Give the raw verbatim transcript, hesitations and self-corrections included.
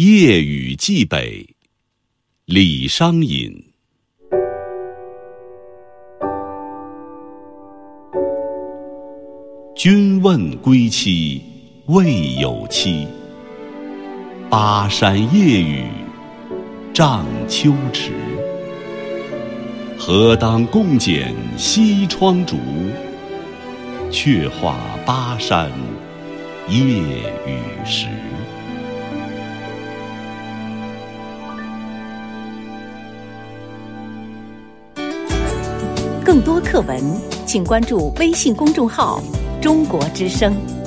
夜雨寄北，李商隐。君问归期未有期，巴山夜雨涨秋池。何当共剪西窗烛，却话巴山夜雨时。 更多课文，请关注微信公众号“中国之声”。